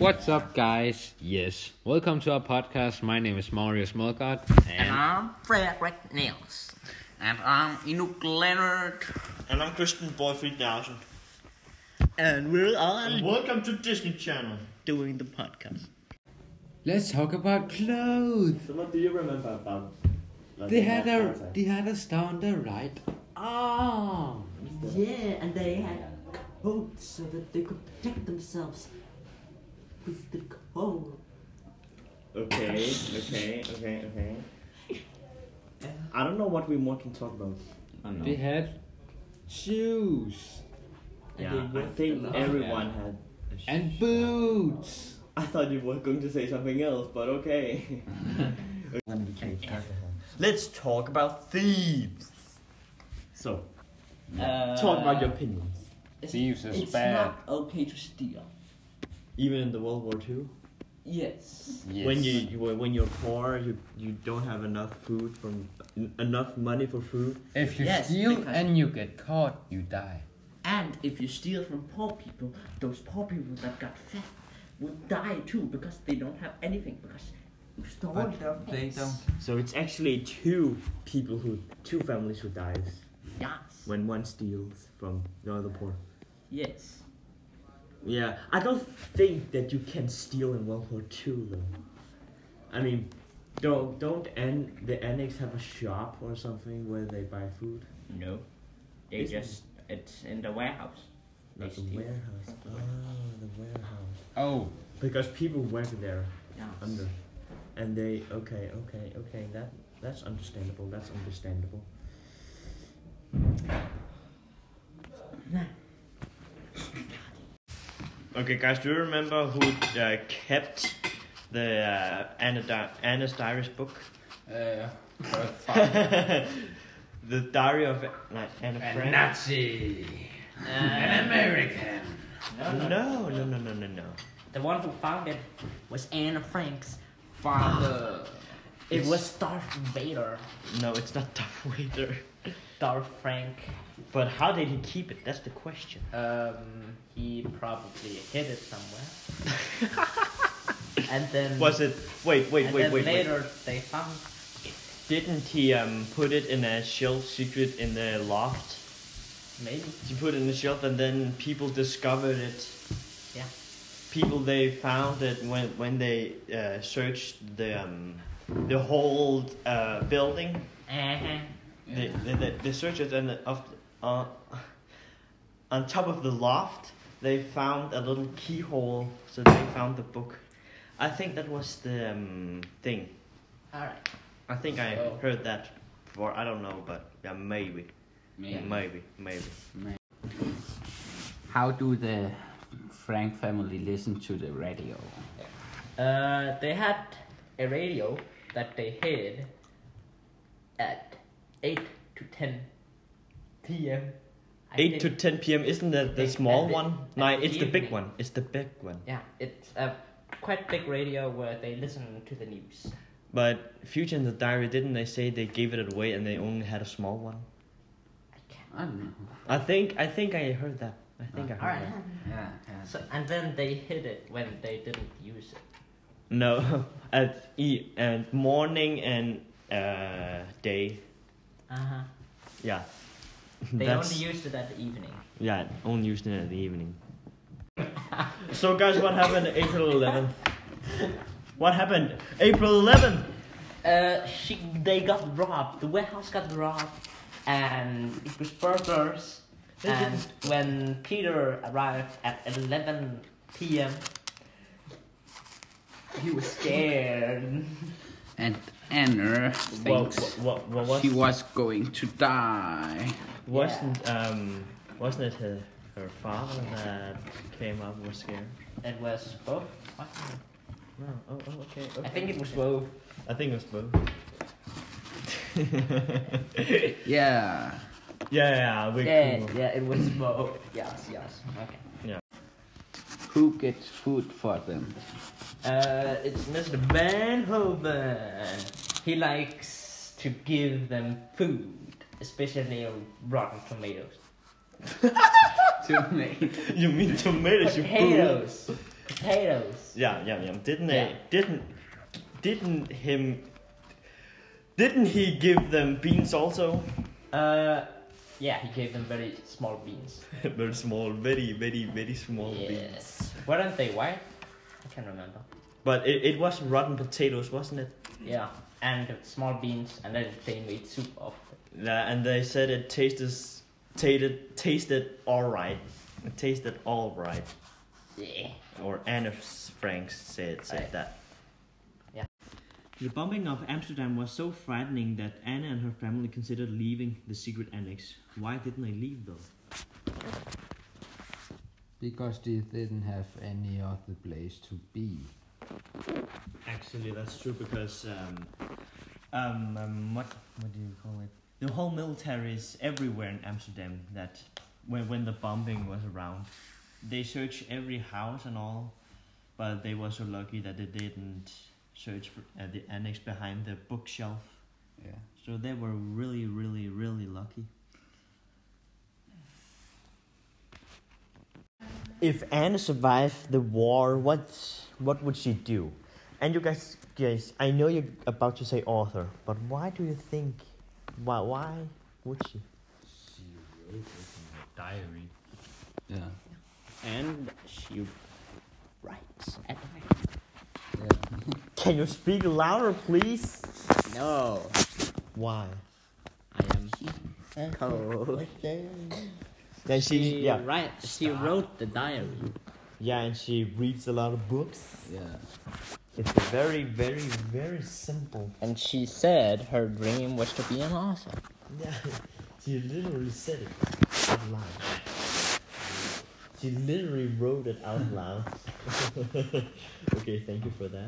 What's up, guys? Yes, welcome to our podcast. My name is Mario Smolgard. And I'm Frederick Niels. And I'm Inuk Leonard. And I'm Christian Boy 3000. And we're on Welcome to Disney Channel. doing the podcast. Let's talk about clothes. So what do you remember about? They had a star on the right arm. Yeah, and they had coats so that they could protect themselves with the cold. Okay. I don't know what we more can talk about. They had shoes Yeah, I think everyone had. and boots. I thought you were going to say something else, but okay. Let's talk about thieves. So, talk about your opinions. Thieves is It's bad. not okay to steal. Even in the World War II, Yes. Yes. when you're poor, you don't have enough food enough money for food. If you Yes, steal because- and you get caught, you die. And if you steal from poor people, those poor people that got fat will die too because they don't have anything because you stole their things. So it's actually two families who dies Yes. when one steals from the other poor. Yes. Yeah, I don't think that you can steal in World War II though. I mean, don't the annex have a shop or something where they buy food? No. It's in the warehouse. Not the steal. warehouse. Oh, the warehouse. Oh, Because people work there Yes. under, and they okay. That's understandable. Okay, guys, do you remember who kept the Anna's Diaries book? The Diary of Anne a Frank? Nazi, an American. No. The one who found it was Anne Frank's Father. It was Darth Vader. No, it's not Darth Vader. Darth Frank. But how did he keep it? That's the question. He probably hid it somewhere. And then Was it? Wait. later they found. Didn't he put it in a shelf secret in the loft? Maybe. He put it in the shelf and then people discovered it. Yeah. People, they found it when they searched the whole building. Uh-huh. They searched it and on top of the loft they found a little keyhole, so they found the book. I think that was the thing. Alright. I think I So- heard that before. I don't know, but yeah, maybe. How do the Frank family listen to the radio? They had a radio that they hid at 8 to 10 p.m. I 8 to think. 10 p.m. Isn't that the They- small at the- one? at No, the it's the big evening. one. It's the big one. Yeah, it's a quite big radio where they listen to the news. But Future in the Diary, didn't they say they gave it away and they only had a small one? I don't know. I think I heard that. I think I heard Alright. that. Yeah. So, and then they hid it when they didn't use it. No, at morning and day. Uh-huh. Yeah. They That's- only used it at the evening. Yeah, only used it in the evening. So guys, what happened April 11th? What happened April 11th? They got robbed. The warehouse got robbed, and it was burglars. And when Peter arrived at 11 p.m., he was scared. And Anna thinks What she was going to die. wasn't it her father that came up and was scared? It was both. What? No. Okay. I think it was both. I think it was both. Yeah. Yeah, we Yeah, it was both. Yes. Okay. Who gets food for them? It's Mr. Van Hoven. He likes to give them food, especially rotten tomatoes. Tomato. You mean tomatoes? You fool? Potatoes. Potatoes. Yeah. Didn't he give them beans also? Yeah, he gave them very small beans. Very small, very small beans. Yes. Weren't they white? I can't remember. But it was rotten potatoes, wasn't it? Yeah, and small beans, and then they made soup of it. Yeah, and they said it tasted all right. It tasted all right. Yeah. Or Anne Frank said Right. that. Yeah. The bombing of Amsterdam was so frightening that Anna and her family considered leaving the secret annex. Why didn't they leave though? Because they didn't have any other place to be. Actually, that's true because what do you call it? The whole military is everywhere in Amsterdam. That when the bombing was around, they searched every house and all, but they were so lucky that they didn't search for, the annex behind the bookshelf. Yeah. So they were really, really, really lucky. If Anne survived the war, what would she do? And you guys, I know you're about to say author, but why do you think? Why would she? She wrote it in her diary. Yeah. And she writes at night. Yeah. Can you speak louder, please? No, Why? I am cold. Then she She wrote the diary. and she reads a lot of books. Yeah. It's very, very, very simple. And she said her dream was to be an author. Yeah, she literally said it out loud. She literally wrote it out loud. Okay, thank you for that.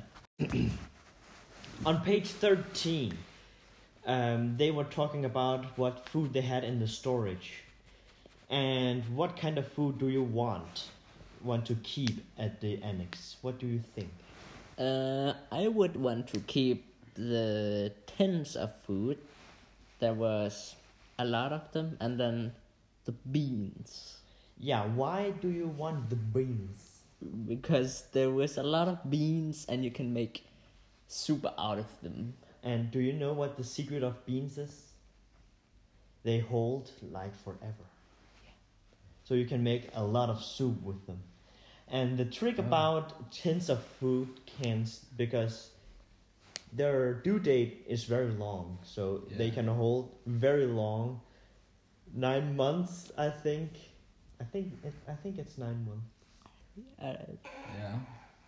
On page 13, they were talking about what food they had in the storage. And what kind of food do you want to keep at the annex? What do you think? I would want to keep the tins of food. There was a lot of them, and then the beans. Yeah, why do you want the beans? Because there was a lot of beans, and you can make soup out of them. And do you know what the secret of beans is? They hold like forever. So you can make a lot of soup with them. And the trick about tins of food cans, because their due date is very long, so they can hold very long. 9 months, I think. I think it's 9 months. Yeah.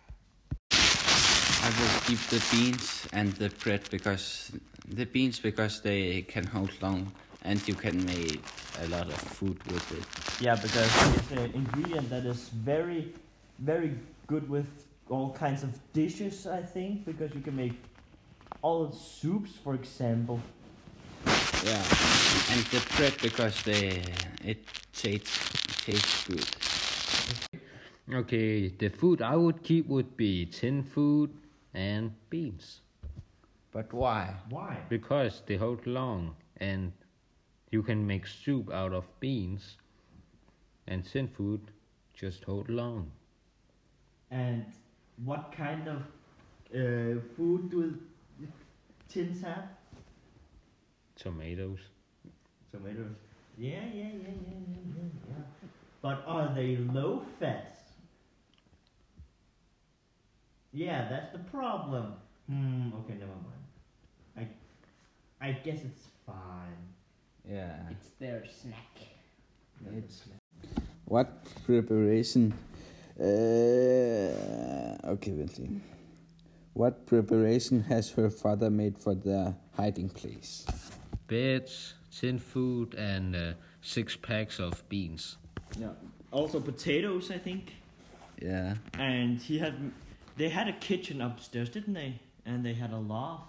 I will keep the beans and the bread because they can hold long and you can make a lot of food with it. Yeah, because it's an ingredient that is very, very good with all kinds of dishes, I think, because you can make all soups, for example. Yeah, and the bread because it tastes good. Okay, the food I would keep would be tin food and beans. But why? Why? Because they hold long and you can make soup out of beans, and tin food just hold long. And what kind of food do tins have? Tomatoes. Tomatoes. Yeah. But are they low fat? Yeah, that's the problem. Okay, never mind. I guess it's fine. Yeah. It's their snack. It's what preparation? Okay, wait. What preparation has her father made for the hiding place? Beds, tin food, and 6 packs of beans. Yeah. Also potatoes, I think. Yeah. And they had a kitchen upstairs, didn't they? And they had a loft.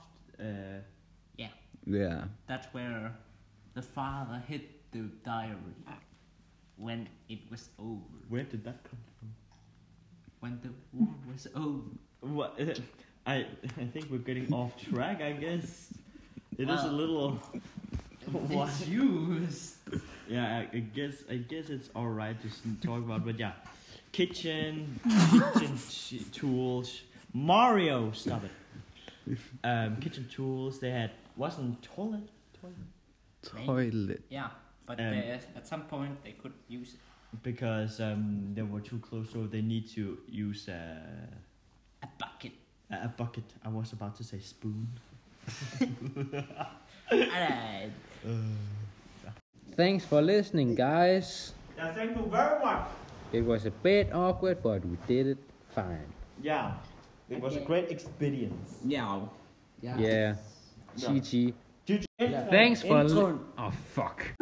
Yeah. That's where the father hid the diary when it was over. Where did that come from? When the war was over. What? I think we're getting off track. I guess it is a little. It's used. Yeah, I guess it's all right to talk about, but yeah, kitchen tools. Mario, stop it. Kitchen tools. They had wasn't toilet. Toilet. Yeah, but at some point they could use it. Because they were too close, so they need to use A bucket. a bucket. I was about to say spoon. Alright. Thanks for listening, guys. Yeah, thank you very much. It was a bit awkward, but we did it fine. Yeah, it was a great experience. Yeah. Yeah. GG. GG. Thanks for. Oh fuck.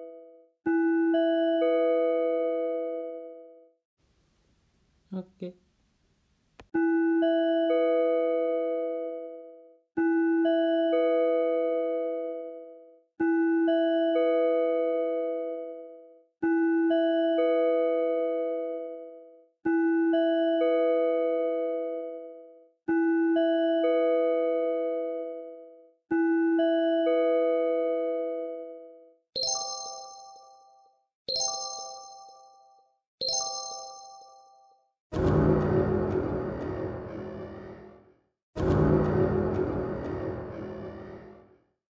Okay.